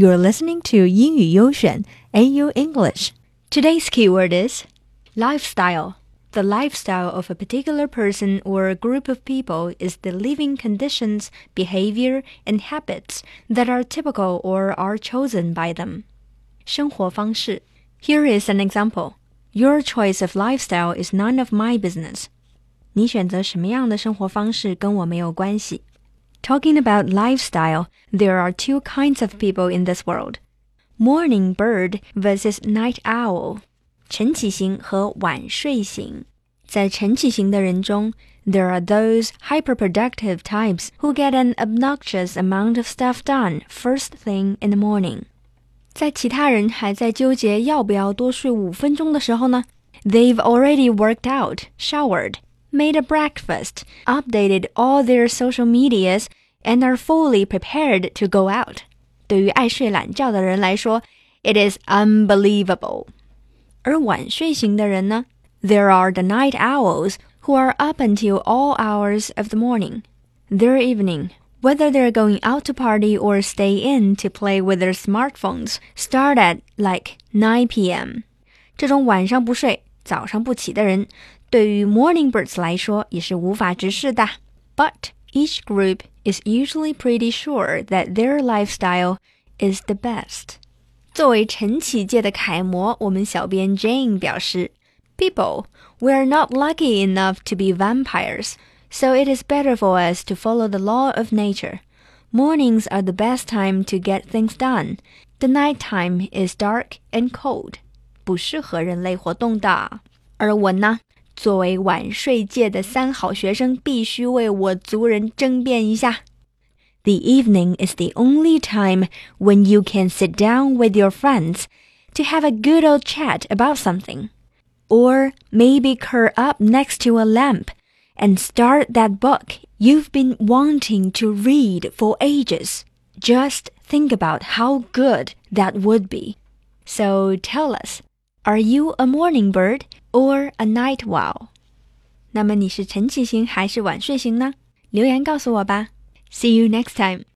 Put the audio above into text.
You're listening to 英语优选 AU English. Today's keyword is lifestyle. The lifestyle of a particular person or a group of people is the living conditions, behavior, and habits that are typical or are chosen by them. 生活方式. Here is an example. Your choice of lifestyle is none of my business. 你选择什么样的生活方式跟我没有关系。Talking about lifestyle, there are two kinds of people in this world. Morning bird versus night owl. 晨起型和晚睡型。在晨起型的人中 there are those hyperproductive types who get an obnoxious amount of stuff done first thing in the morning. 在其他人还在纠结要不要多睡5分钟的时候呢 they've already worked out, showered, made a breakfast, updated all their social medias, and are fully prepared to go out. 对于爱睡懒觉的人来说 it is unbelievable. 而晚睡型的人呢 there are the night owls who are up until all hours of the morning. Their evening, whether they're going out to party or stay in to play with their smartphones, start at like 9 p.m. 这种晚上不睡早上不起的人对于 morning birds 来说也是无法直视的 But each group is usually pretty sure that their lifestyle is the best. 作为晨起界的楷模，我们小编 Jane 表示 People, we are not lucky enough to be vampires, so it is better for us to follow the law of nature. Mornings are the best time to get things done. The night time is dark and cold. 不适合人类活动的。而我呢作为晚睡界的三好学生必须为我族人争辩一下 The evening is the only time when you can sit down with your friends to have a good old chat about something. Or maybe curl up next to a lamp and start that book you've been wanting to read for ages. Just think about how good that would be. So tell us, are you a morning bird or a night owl? 那么你是晨起型还是晚睡型呢？留言告诉我吧。See you next time.